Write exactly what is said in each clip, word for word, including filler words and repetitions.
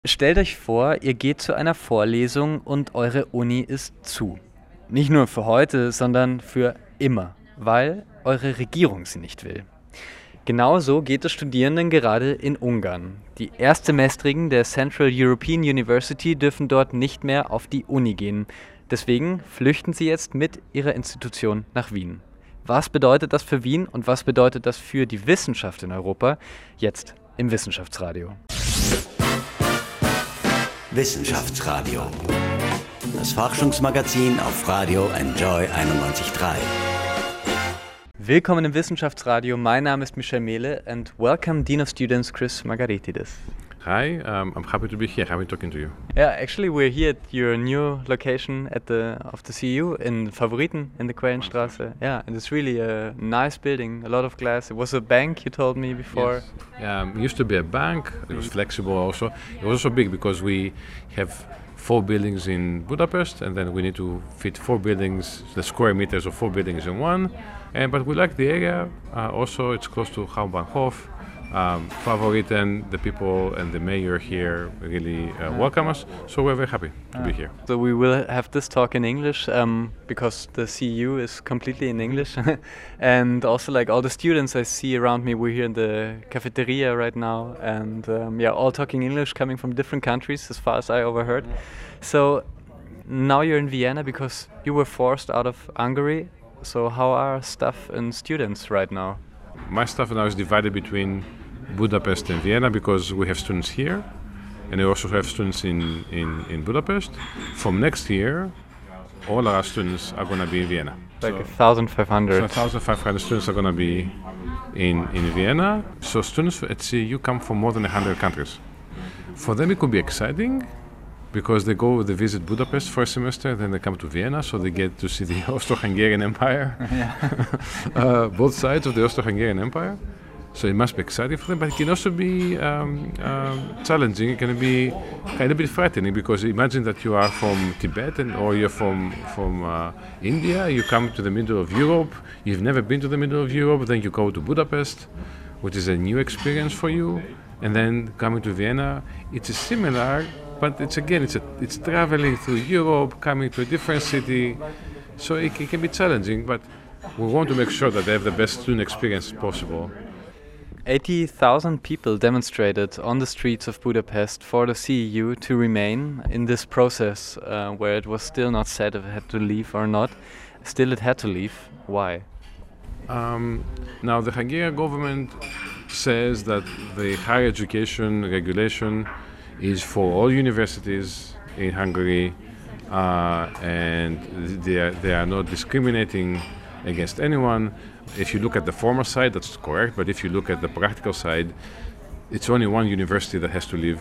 Stellt euch vor, ihr geht zu einer Vorlesung und eure Uni ist zu. Nicht nur für heute, sondern für immer, weil eure Regierung sie nicht will. Genauso geht es Studierenden gerade in Ungarn. Die Erstsemestrigen der Central European University dürfen dort nicht mehr auf die Uni gehen. Deswegen flüchten sie jetzt mit ihrer Institution nach Wien. Was bedeutet das für Wien und was bedeutet das für die Wissenschaft in Europa? Jetzt im Wissenschaftsradio. Wissenschaftsradio. Das Forschungsmagazin auf Radio Enjoy einundneunzig Komma drei. Willkommen im Wissenschaftsradio. Mein Name ist Michel Mehle and welcome Dean of Students Chris Margaritidis. Hi, um, I'm happy to be here, happy talking to you. Yeah, actually we're here at your new location at the of the C U in Favoriten in the Quellenstraße. Yeah, and it's really a nice building, a lot of glass. It was a bank, you told me before. Yes. Yeah, it used to be a bank. It was flexible also. It was also big because we have four buildings in Budapest and then we need to fit four buildings, the square meters of four buildings in one. And but we like the area. Uh, also, it's close to Hauptbahnhof. Um, Favoriten, the people and the mayor here really uh, welcome us, so we're very happy to be here. So we will have this talk in English um, because the C U is completely in English. And also like all the students I see around me, we're here in the cafeteria right now and um, yeah, all talking English, coming from different countries as far as I overheard. So now you're in Vienna because you were forced out of Hungary. So how are staff and students right now? My staff now is divided between Budapest and Vienna because we have students here and we also have students in, in, in Budapest. From next year, all our students are going to be in Vienna. Like so, one thousand five hundred. So one thousand five hundred students are going to be in, in Vienna. So students at C U come from more than one hundred countries. For them it could be exciting because they go, they visit Budapest for a semester, then they come to Vienna, so they get to see the Austro-Hungarian Empire, uh, both sides of the Austro-Hungarian Empire. So it must be exciting for them, but it can also be um, um, challenging. It can be kind of a bit frightening because imagine that you are from Tibet and, or you're from from uh, India. You come to the middle of Europe. You've never been to the middle of Europe. Then you go to Budapest, which is a new experience for you. And then coming to Vienna, it's a similar, but it's again it's a, it's traveling through Europe, coming to a different city. So it, it can be challenging, but we want to make sure that they have the best student experience possible. eighty thousand people demonstrated on the streets of Budapest for the C E U to remain in this process uh, where it was still not said if it had to leave or not. Still it had to leave. Why? Um, now the Hungarian government says that the higher education regulation is for all universities in Hungary uh, and they are, they are not discriminating against anyone. If you look at the former side, that's correct, but if you look at the practical side, it's only one university that has to leave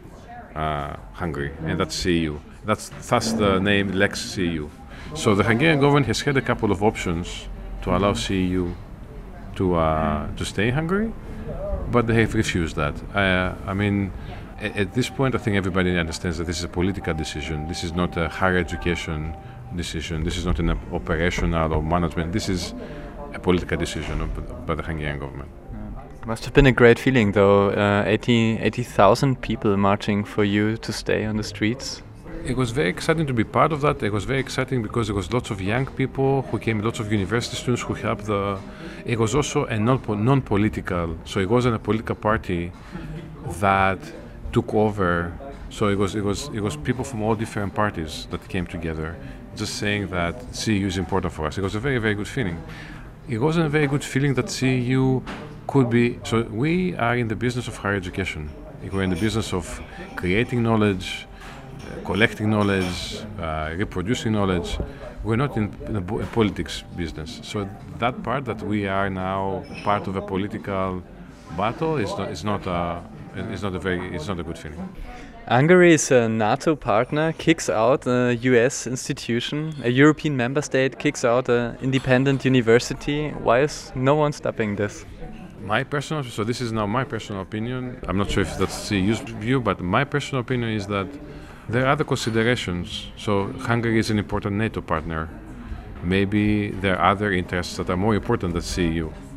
uh, Hungary, and that's C E U. That's thus the name Lex C E U. So the Hungarian government has had a couple of options to allow C E U to uh, to stay in Hungary, but they have refused that. Uh, I mean, at, at this point, I think everybody understands that this is a political decision. This is not a higher education decision. This is not an operational or management. This is a political decision by the Hungarian government. Must have been a great feeling though, uh, eighty thousand people marching for you to stay on the streets. It was very exciting to be part of that. It was very exciting because there was lots of young people who came, lots of university students who helped the... It was also a non- non-political, so it wasn't a political party that took over. So it was, it was, it was people from all different parties that came together, just saying that C E U is important for us. It was a very, very good feeling. It wasn't a very good feeling that C E U could be... So we are in the business of higher education. We're in the business of creating knowledge, uh, collecting knowledge, uh, reproducing knowledge. We're not in, in a bo- a politics business. So that part that we are now part of a political battle is not, is not, a, is not, a, very, it's not a good feeling. Hungary is a NATO partner, kicks out a U S institution, a European member state kicks out an independent university. Why is no one stopping this? My personal, so this is now my personal opinion. I'm not sure if that's C E U's view, but my personal opinion is that there are other considerations. So Hungary is an important NATO partner. Maybe there are other interests that are more important than C E U.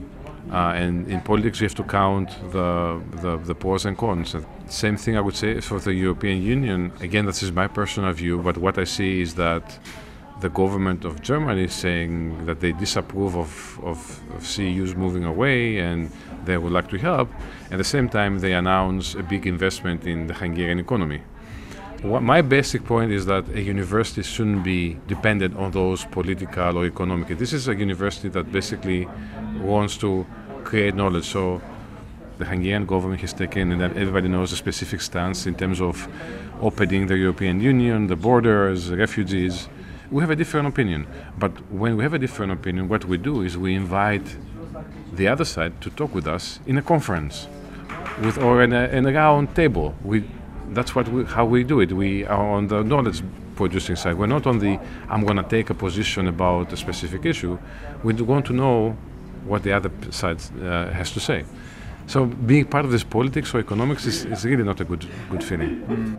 Uh, and in politics, you have to count the, the, the pros and cons. Same thing I would say for the European Union. Again, this is my personal view, but what I see is that the government of Germany is saying that they disapprove of, of, of C E Us moving away and they would like to help. At the same time, they announce a big investment in the Hungarian economy. What my basic point is that a university shouldn't be dependent on those political or economic. This is a university that basically wants to create knowledge. So the Hungarian government has taken, and everybody knows, a specific stance in terms of opening the European Union, the borders, refugees. We have a different opinion. But when we have a different opinion, what we do is we invite the other side to talk with us in a conference with, or in a, in a round table. We, that's what we, how we do it. We are on the knowledge producing side. We're not on the, I'm going to take a position about a specific issue. We want to know what the other side uh, has to say. So being part of this politics or economics is, is really not a good good feeling. Mm.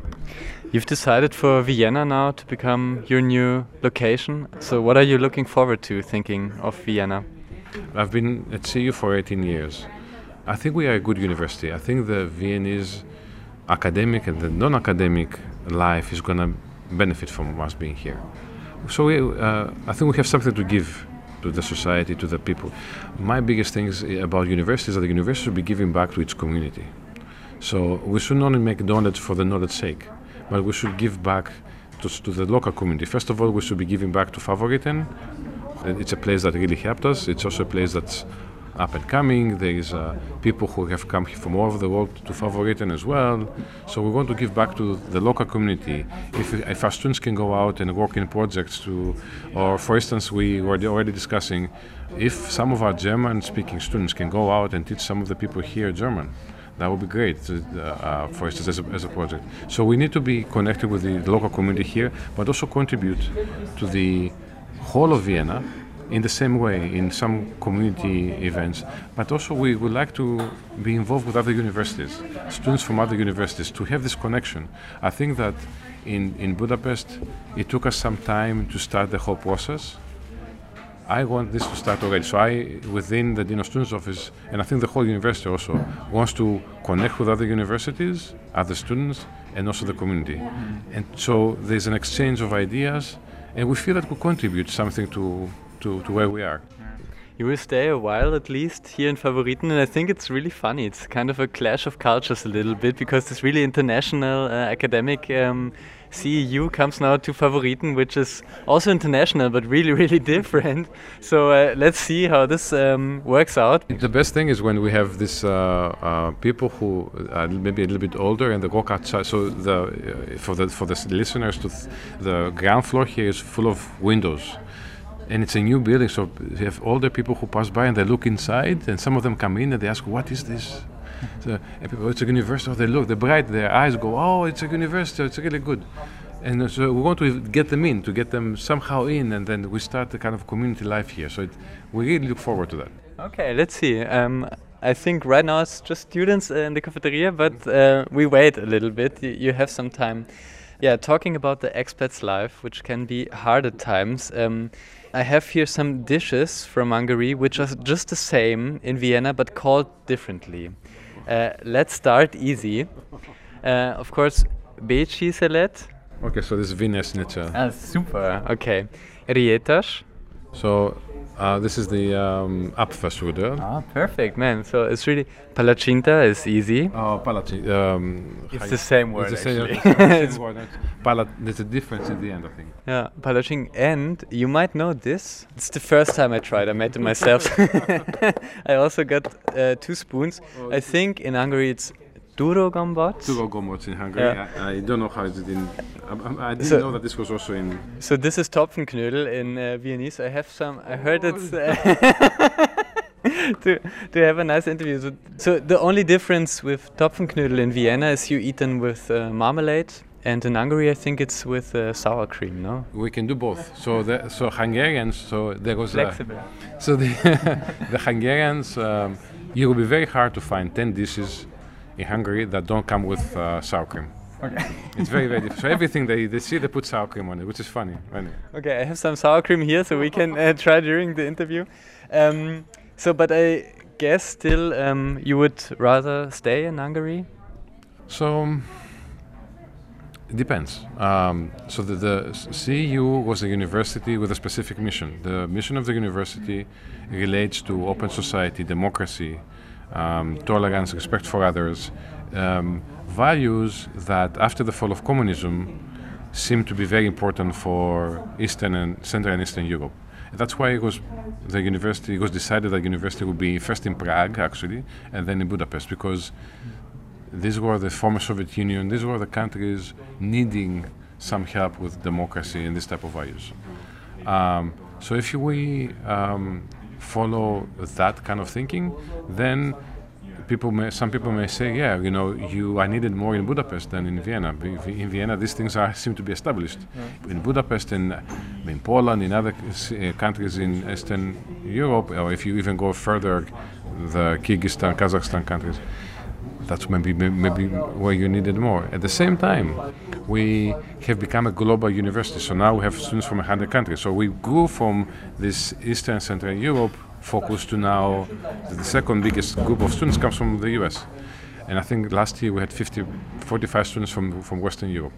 You've decided for Vienna now to become your new location. So what are you looking forward to thinking of Vienna? I've been at C E U for eighteen years. I think we are a good university. I think the Viennese academic and the non-academic life is going to benefit from us being here. So we, uh, I think we have something to give to the society, to the people. My biggest thing is about universities is that the university should be giving back to its community. So we should not only make knowledge for the knowledge's sake, but we should give back to, to the local community. First of all, we should be giving back to Favoriten. It's a place that really helped us. It's also a place that's up and coming. There is uh, people who have come from all over the world to Favoriten as well. So we want to give back to the local community. If, if our students can go out and work in projects to, or for instance, we were already discussing if some of our German-speaking students can go out and teach some of the people here German. That would be great, uh, uh, for instance, as a, as a project. So we need to be connected with the local community here, but also contribute to the whole of Vienna in the same way, in some community events. But also we would like to be involved with other universities, students from other universities, to have this connection. I think that in, in Budapest, it took us some time to start the whole process. I want this to start already. So I, within the Dean of Students Office, and I think the whole university also, wants to connect with other universities, other students, and also the community. Mm-hmm. And so there's an exchange of ideas, and we feel that we contribute something to, to, to where we are. You will stay a while at least here in Favoriten, and I think it's really funny. It's kind of a clash of cultures a little bit, because this really international uh, academic um, C E U comes now to Favoriten, which is also international but really, really different. So uh, let's see how this um, works out. The best thing is when we have this uh, uh, people who are maybe a little bit older and they walk outside. So the uh, for the for the listeners, to th- the ground floor here is full of windows. And it's a new building, so you have older people who pass by and they look inside, and some of them come in and they ask, "What is this?" So, and people, it's a university. They look, they're bright, their eyes go, "Oh, it's a university, it's really good." And so we want to get them in, to get them somehow in, and then we start the kind of community life here. So it, we really look forward to that. Okay, let's see. Um, I think right now it's just students uh, in the cafeteria, but uh, we wait a little bit. You, you have some time. Yeah, talking about the expat's life, which can be hard at times. Um, I have here some dishes from Hungary, which are just the same in Vienna, but called differently. Uh, let's start easy. Uh, of course, Bécsi szelet. Okay, so this is Wiener Schnitzel. Ah, super. Okay. Rietas. So uh, this is the um, Apfelstrudel. Ah, perfect, man. So it's really Palacinta is easy. Oh, palacinta. Um, it's the same word. It's the same, actually. same word. Palat. There's a difference in the end, I think. Yeah, palacin. And you might know this. It's the first time I tried. I made it myself. I also got uh, two spoons. Oh, I think in Hungary it's Durogomboc. Durogomboc in Hungary. Yeah. I, I don't know how it's in. I, I didn't so, know that this was also in. So this is Topfenknödel in uh, Viennese. I have some. I heard oh. it's. Uh, to to have a nice interview. So, so the only difference with Topfenknödel in Vienna is you eat them with uh, marmalade. And in Hungary, I think it's with uh, sour cream, no? We can do both. So the so Hungarians, so there goes flexible. Uh, so the the Hungarians, um, it will be very hard to find ten dishes in Hungary that don't come with uh, sour cream. Okay. It's very very different. So everything they they see, they put sour cream on it, which is funny. Anyway. Okay, I have some sour cream here, so we can uh, try during the interview. Um, so, but I guess still um, you would rather stay in Hungary? So um, it depends. Um, so the, the C E U was a university with a specific mission. The mission of the university relates to open society, democracy, um, tolerance, respect for others, um, values that after the fall of communism seem to be very important for Eastern and Central and Eastern Europe. And that's why it was the university. It was decided that university would be first in Prague, actually, and then in Budapest, because these were the former Soviet Union. These were the countries needing some help with democracy and this type of values. Um, so if we um, follow that kind of thinking, then people may, some people may say, yeah, you know, you I needed more in Budapest than in Vienna. In Vienna, these things are seem to be established. Yeah. In Budapest, in in Poland, in other uh, countries in Eastern Europe, or if you even go further, the Kyrgyzstan, Kazakhstan countries, that's maybe maybe where you needed more. At the same time, we have become a global university. So now we have students from one hundred countries. So we grew from this Eastern Central Europe focus to now the second biggest group of students comes from the U S. And I think last year we had fifty, forty-five students from, from Western Europe.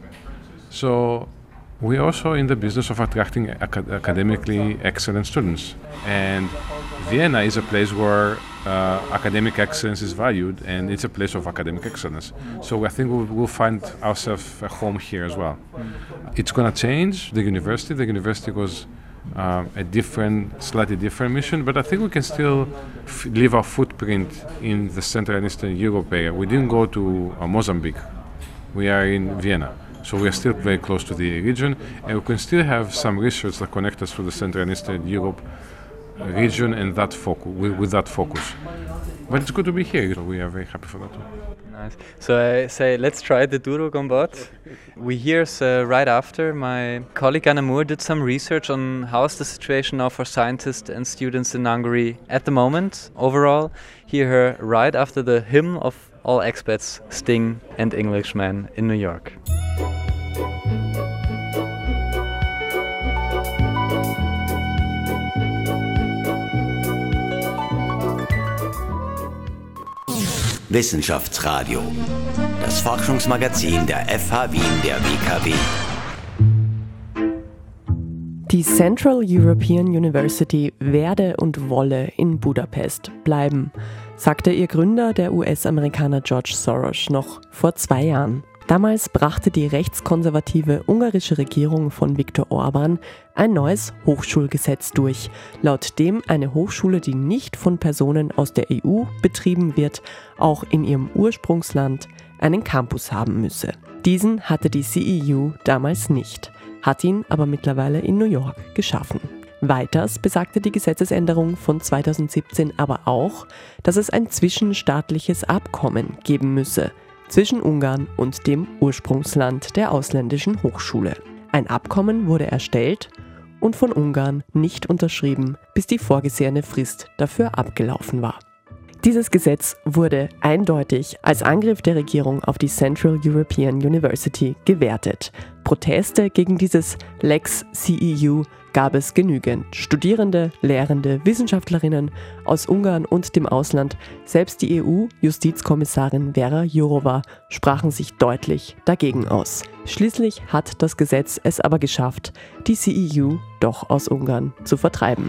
So we're also in the business of attracting acad- academically excellent students. And Vienna is a place where uh, academic excellence is valued, and it's a place of academic excellence. So I think we'll, we'll find ourselves a home here as well. It's going to change the university. The university was Um, a different, slightly different mission, but I think we can still f- leave our footprint in the Central and Eastern Europe area. We didn't go to uh, Mozambique. We are in Vienna, so we are still very close to the region, and we can still have some research that connect us to the Central and Eastern Europe region and that focus, with, with that focus. But it's good to be here. So we are very happy for that too. Nice. So I say, let's try the Duro Gombot. We hear uh, right after my colleague Anna Moore did some research on how's the situation now for scientists and students in Hungary at the moment. Overall, hear her right after the hymn of all expats, Sting and Englishman in New York. Wissenschaftsradio, das Forschungsmagazin der F H Wien der W K W. Die Central European University werde und wolle in Budapest bleiben, sagte ihr Gründer, der U S-Amerikaner George Soros, noch vor zwei Jahren. Damals brachte die rechtskonservative ungarische Regierung von Viktor Orbán ein neues Hochschulgesetz durch, laut dem eine Hochschule, die nicht von Personen aus der E U betrieben wird, auch in ihrem Ursprungsland einen Campus haben müsse. Diesen hatte die C E U damals nicht, hat ihn aber mittlerweile in New York geschaffen. Weiters besagte die Gesetzesänderung von zweitausendsiebzehn aber auch, dass es ein zwischenstaatliches Abkommen geben müsse zwischen Ungarn und dem Ursprungsland der ausländischen Hochschule. Ein Abkommen wurde erstellt und von Ungarn nicht unterschrieben, bis die vorgesehene Frist dafür abgelaufen war. Dieses Gesetz wurde eindeutig als Angriff der Regierung auf die Central European University gewertet. Proteste gegen dieses Lex C E U gab es genügend. Studierende, Lehrende, Wissenschaftlerinnen aus Ungarn und dem Ausland, selbst die E U-Justizkommissarin Vera Jourova sprachen sich deutlich dagegen aus. Schließlich hat das Gesetz es aber geschafft, die C E U doch aus Ungarn zu vertreiben.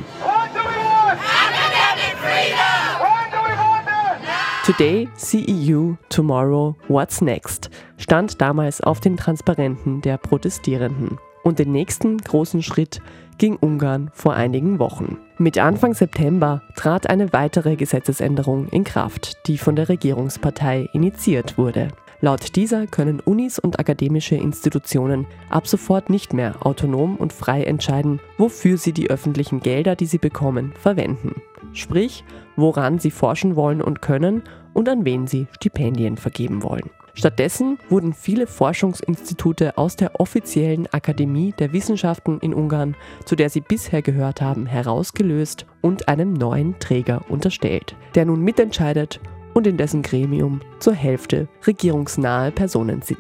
Today, C E U, tomorrow, what's next? Stand damals auf den Transparenten der Protestierenden. Und den nächsten großen Schritt ging Ungarn vor einigen Wochen. Mit Anfang September trat eine weitere Gesetzesänderung in Kraft, die von der Regierungspartei initiiert wurde. Laut dieser können Unis und akademische Institutionen ab sofort nicht mehr autonom und frei entscheiden, wofür sie die öffentlichen Gelder, die sie bekommen, verwenden. Sprich, woran sie forschen wollen und können und an wen sie Stipendien vergeben wollen. Stattdessen wurden viele Forschungsinstitute aus der offiziellen Akademie der Wissenschaften in Ungarn, zu der sie bisher gehört haben, herausgelöst und einem neuen Träger unterstellt, der nun mitentscheidet und in dessen Gremium zur Hälfte regierungsnahe Personen sitzen.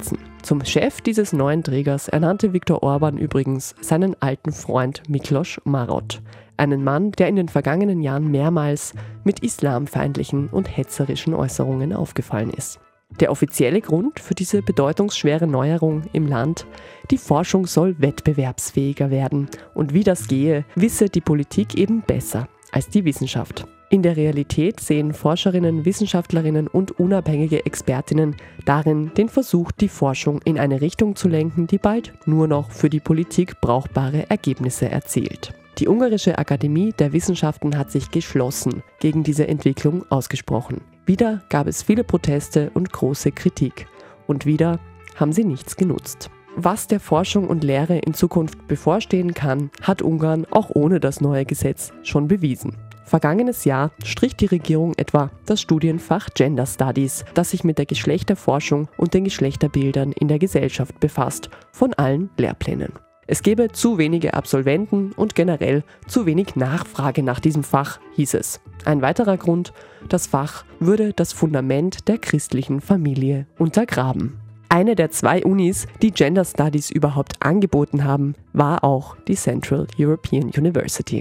Zum Chef dieses neuen Trägers ernannte Viktor Orban übrigens seinen alten Freund Miklos Marot, einen Mann, der in den vergangenen Jahren mehrmals mit islamfeindlichen und hetzerischen Äußerungen aufgefallen ist. Der offizielle Grund für diese bedeutungsschwere Neuerung im Land: die Forschung soll wettbewerbsfähiger werden, und wie das gehe, wisse die Politik eben besser als die Wissenschaft. In der Realität sehen Forscherinnen, Wissenschaftlerinnen und unabhängige Expertinnen darin den Versuch, die Forschung in eine Richtung zu lenken, die bald nur noch für die Politik brauchbare Ergebnisse erzielt. Die Ungarische Akademie der Wissenschaften hat sich geschlossen gegen diese Entwicklung ausgesprochen. Wieder gab es viele Proteste und große Kritik. Und wieder haben sie nichts genutzt. Was der Forschung und Lehre in Zukunft bevorstehen kann, hat Ungarn auch ohne das neue Gesetz schon bewiesen. Vergangenes Jahr strich die Regierung etwa das Studienfach Gender Studies, das sich mit der Geschlechterforschung und den Geschlechterbildern in der Gesellschaft befasst, von allen Lehrplänen. Es gebe zu wenige Absolventen und generell zu wenig Nachfrage nach diesem Fach, hieß es. Ein weiterer Grund: das Fach würde das Fundament der christlichen Familie untergraben. Eine der zwei Unis, die Gender Studies überhaupt angeboten haben, war auch die Central European University.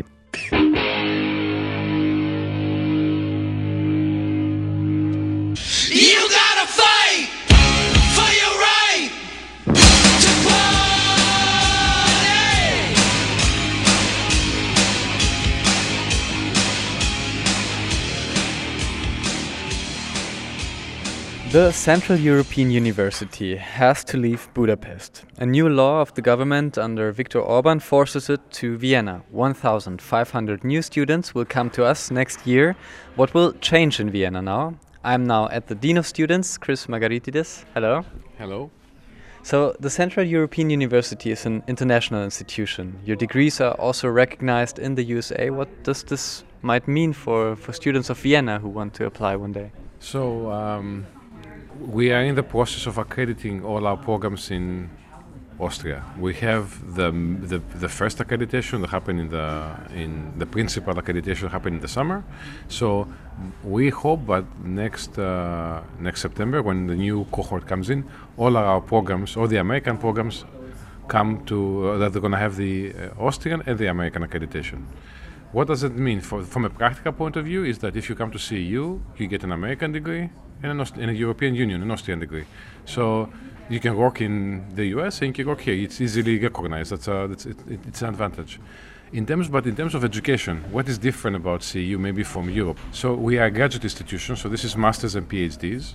The Central European University has to leave Budapest. A new law of the government under Viktor Orban forces it to Vienna. one thousand five hundred new students will come to us next year. What will change in Vienna now? I'm now at the Dean of Students, Chris Margaritidis. Hello. Hello. So, the Central European University is an international institution. Your degrees are also recognized in the U S A. What does this might mean for, for students of Vienna who want to apply one day? So, um, we are in the process of accrediting all our programs in Austria. We have the the, the first accreditation that happened in the in the principal accreditation happened in the summer. So we hope that next uh, next September, when the new cohort comes in, all our programs, all the American programs, come to uh, that they're going to have the uh, Austrian and the American accreditation. What does it mean for, from a practical point of view? Is that if you come to C E U, you get an American degree and an Aust- in a European Union, an Austrian degree. So you can work in the U S and you can work here. It's easily recognized. That's, a, that's it, it, it's an advantage. In terms, but in terms of education, what is different about C E U maybe from Europe? So we are a graduate institution. So this is masters and PhDs,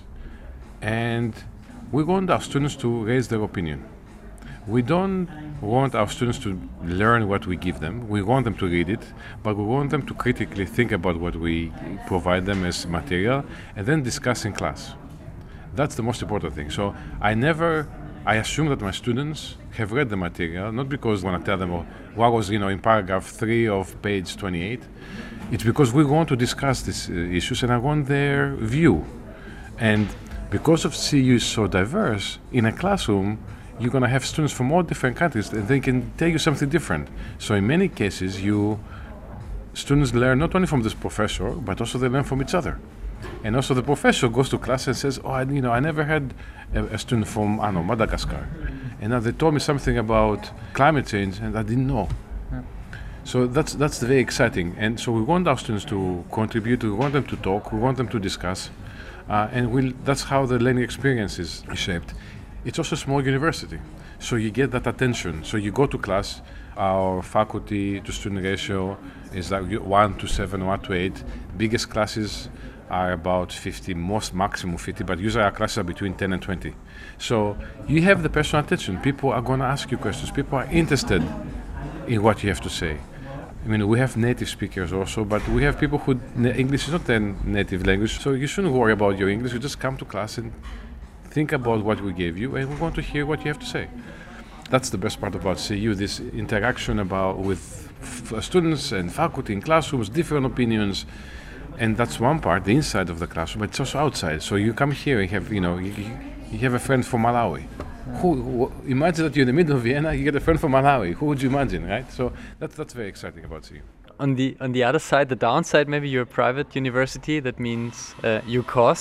and we want our students to raise their opinion. We don't want our students to learn what we give them. We want them to read it, but we want them to critically think about what we provide them as material and then discuss in class. That's the most important thing. So I never, I assume that my students have read the material, not because I want to tell them, oh, what was, you know, in paragraph three of page twenty-eight. It's because we want to discuss these uh, issues and I want their view. And because of C U is so diverse, in a classroom, you're going to have students from all different countries and they can tell you something different. So in many cases, you students learn not only from this professor, but also they learn from each other. And also the professor goes to class and says, oh, I, you know, I never had a, a student from, I don't know, Madagascar. And now they told me something about climate change and I didn't know. Yeah. So that's that's very exciting. And so we want our students to contribute, we want them to talk, we want them to discuss. Uh, and we'll, that's how the learning experience is shaped. It's also a small university, so you get that attention. So you go to class, our faculty to student ratio is like one to seven, one to eight. Biggest classes are about fifty, most maximum fifty, but usually our classes are between ten and twenty. So you have the personal attention. People are going to ask you questions. People are interested in what you have to say. I mean, we have native speakers also, but we have people who English is not their native language, so you shouldn't worry about your English. You just come to class and think about what we gave you, and we want to hear what you have to say. That's the best part about C U, this interaction about with f- students and faculty in classrooms, different opinions, and that's one part, the inside of the classroom, but it's also outside. So you come here and have, you know, you, you have a friend from Malawi. Who, who, imagine that you're in the middle of Vienna, you get a friend from Malawi. Who would you imagine, right? So that's that's very exciting about C U. On the on the other side, the downside, maybe you're a private university. That means uh, you cost.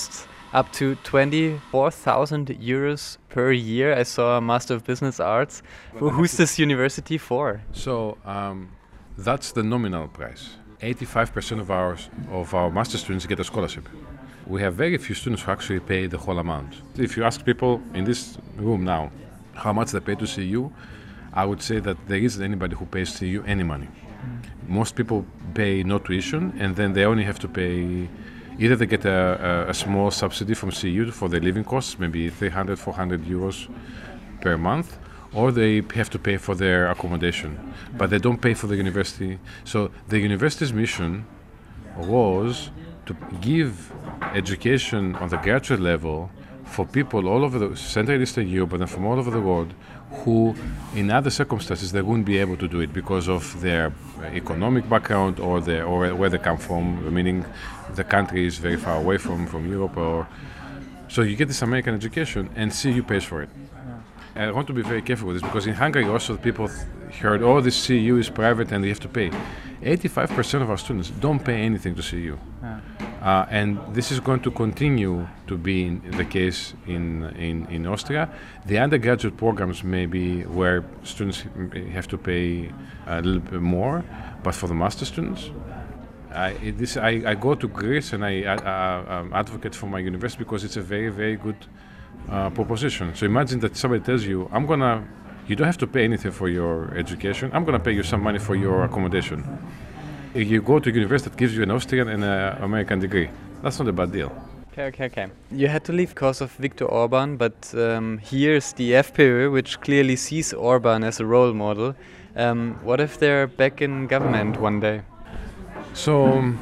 up to twenty-four thousand euros per year. I saw a Master of Business Arts. Well, who's this university for? So um, that's the nominal price. eighty-five percent of our, of our master students get a scholarship. We have very few students who actually pay the whole amount. If you ask people in this room now how much they pay to C U, I would say that there isn't anybody who pays C U any money. Mm. Most people pay no tuition, and then they only have to pay, either they get a, a, a small subsidy from C U for their living costs, maybe three hundred, four hundred euros per month, or they have to pay for their accommodation, mm. but they don't pay for the university. So the university's mission was to give education on the graduate level for people all over the Central and Eastern Europe, but then from all over the world, who in other circumstances they wouldn't be able to do it because of their economic background or their or where they come from, meaning the country is very far away from, from Europe. Or so you get this American education and C U pays for it. Yeah. I want to be very careful with this because in Hungary also people th- heard, oh, this C U is private and you have to pay. eighty-five percent of our students don't pay anything to C U. Yeah. Uh, and this is going to continue to be in, the case in, in, in Austria. The undergraduate programs may be where students have to pay a little bit more, but for the master students, I, this, I, I go to Greece and I, I, I um, advocate for my university because it's a very, very good uh, proposition. So imagine that somebody tells you, I'm gonna, you don't have to pay anything for your education, I'm gonna pay you some money for your accommodation. You go to a university that gives you an Austrian and an American degree. That's not a bad deal. Okay, okay, okay. You had to leave because of Viktor Orban, but um, here's the FPÖ, which clearly sees Orban as a role model. Um, what if they're back in government one day? So, um,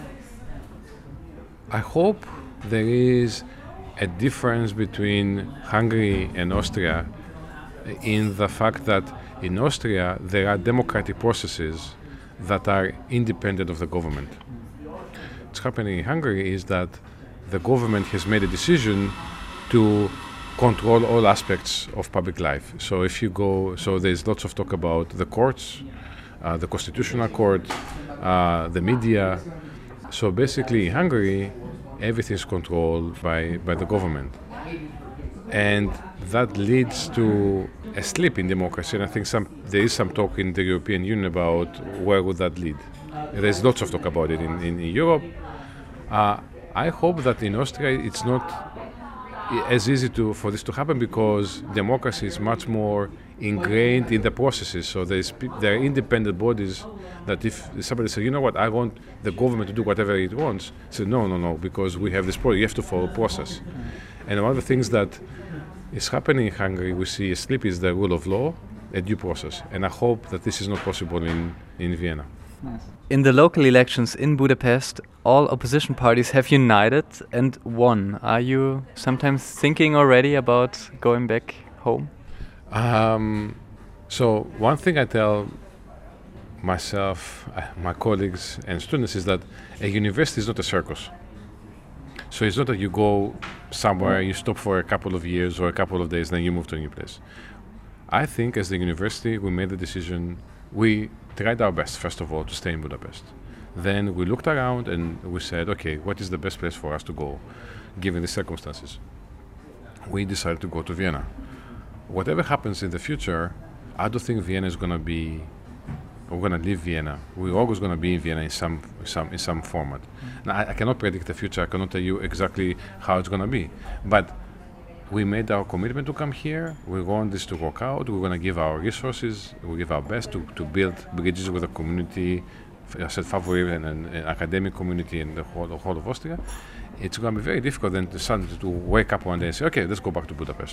I hope there is a difference between Hungary and Austria in the fact that in Austria there are democratic processes that are independent of the government. What's happening in Hungary is that the government has made a decision to control all aspects of public life. So if you go, so there's lots of talk about the courts, uh, the constitutional court, uh, the media. So basically in Hungary, everything is controlled by, by the government. And that leads to a slip in democracy, and I think some, there is some talk in the European Union about where would that lead. There's lots of talk about it in, in, in Europe. Uh, I hope that in Austria it's not as easy to, for this to happen because democracy is much more ingrained in the processes. So there's, there are independent bodies that if somebody says, you know what, I want the government to do whatever it wants, say no, no, no, because we have this process, you have to follow a process. And one of the things that is happening in Hungary, we see a slip is the rule of law, a due process. And I hope that this is not possible in, in Vienna. Nice. In the local elections in Budapest, all opposition parties have united and won. Are you sometimes thinking already about going back home? Um, so one thing I tell myself, uh, my colleagues and students is that a university is not a circus. So it's not that you go somewhere, you stop for a couple of years or a couple of days, then you move to a new place. I think as the university, we made the decision, we tried our best, first of all, to stay in Budapest. Then we looked around and we said, okay, what is the best place for us to go, given the circumstances? We decided to go to Vienna. Whatever happens in the future, I don't think Vienna is going to be, we're going to leave Vienna. We're always going to be in Vienna in some some in some format. Now, I, I cannot predict the future. I cannot tell you exactly how it's going to be. But we made our commitment to come here. We want this to work out. We're going to give our resources. We give our best to, to build bridges with the community, I said Favorit and an academic community in the whole, the whole of Austria. It's going to be very difficult then to suddenly to wake up one day and say, okay, let's go back to Budapest.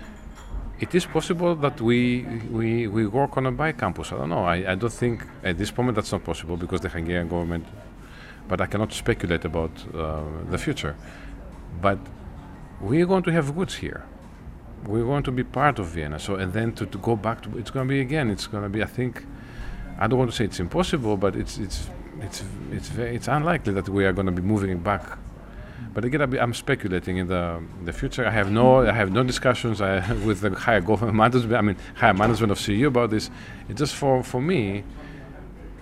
It is possible that we we, we work on a bike campus. I don't know. I, I don't think at this moment that's not possible because the Hungarian government, but I cannot speculate about uh, the future. But we're going to have roots here. We're going to be part of Vienna. So and then to, to go back to, it's going to be again, it's going to be, I think, I don't want to say it's impossible, but it's it's it's it's very, it's unlikely that we are going to be moving back. But again, I'm speculating in the the future. I have no I have no discussions I, with the higher government management. I mean, higher management of C E U about this. It's just for for me.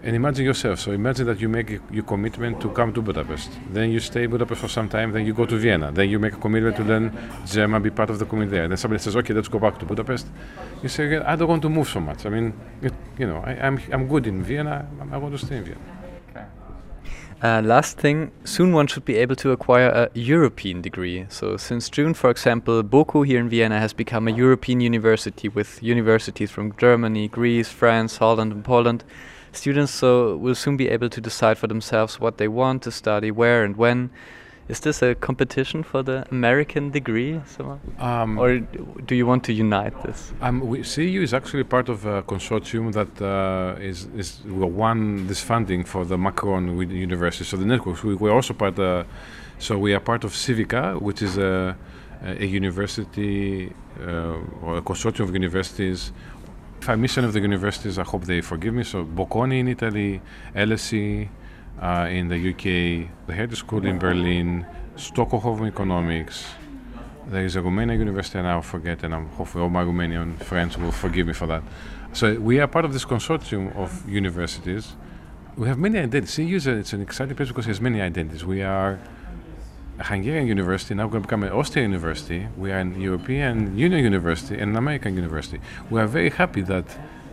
And imagine yourself. So imagine that you make your commitment to come to Budapest. Then you stay in Budapest for some time. Then you go to Vienna. Then you make a commitment to learn German, be part of the community there. Then somebody says, "Okay, let's go back to Budapest." You say, "I don't want to move so much. I mean, it, you know, I, I'm I'm good in Vienna. I want to stay in Vienna." Okay. Uh, last thing, soon one should be able to acquire a European degree. So since June, for example, BOKU here in Vienna has become a European university with universities from Germany, Greece, France, Holland and Poland. Students so will soon be able to decide for themselves what they want to study, where and when. Is this a competition for the American degree? So, um, or do you want to unite this? Um, we, C E U is actually part of a consortium that uh, is, is won this funding for the Macron University. So the networks, we, we're also part of, so we are part of Civica, which is a, a university uh, or a consortium of universities. If I miss any of the universities, I hope they forgive me. So Bocconi in Italy, L S E uh, in the U K, the Hertie School in Berlin, Stockholm Economics. There is a Romanian university, and I'll forget, and I'm hopefully all my Romanian friends will forgive me for that. So we are part of this consortium of universities. We have many identities. C E U is a, it's an exciting place because it has many identities. We are a Hungarian university, now we're going to become an Austrian university. We are an European Union university and an American university. We are very happy that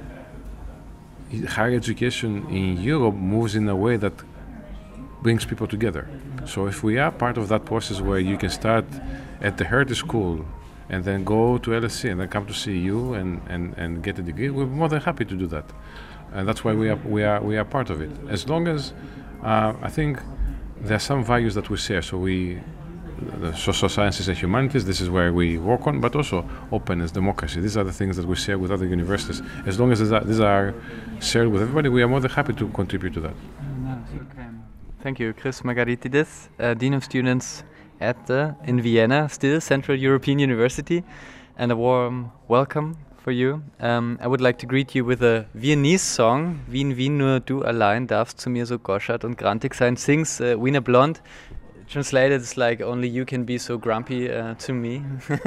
higher education in Europe moves in a way that brings people together. So if we are part of that process where you can start at the Hertie School and then go to L S E and then come to C E U and, and, and get a degree, we're more than happy to do that. And that's why we are, we are, we are part of it. As long as, uh, I think, there are some values that we share. So we, the social sciences and humanities, this is where we work on, but also openness, democracy. These are the things that we share with other universities. As long as these are, these are shared with everybody, we are more than happy to contribute to that. Okay. Thank you, Chris Margaritidis, uh, Dean of Students at the, in Vienna, still Central European University, and a warm welcome for you. Um, I would like to greet you with a Viennese song. Wien, Wien, nur du allein darfst zu mir so goschert und grantig sein. Sings uh, Wiener Blonde. Translated, it's like only you can be so grumpy uh, to me.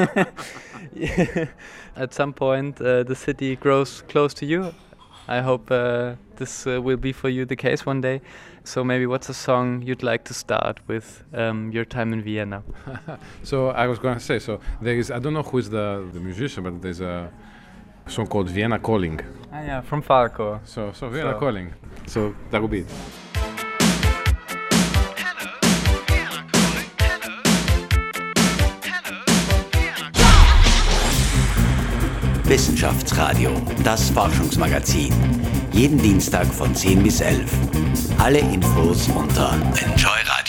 At some point, uh, the city grows close to you. I hope uh, this uh, will be for you the case one day. So maybe what's a song you'd like to start with um, your time in Vienna? So I was going to say, so there is, I don't know who is the, the musician, but there's a song called Vienna Calling. Ah, yeah, from Falco. So, so Vienna so. Calling. So that would be it. Wissenschaftsradio, das Forschungsmagazin. Jeden Dienstag von zehn bis elf. Alle Infos unter enjoy radio punkt de.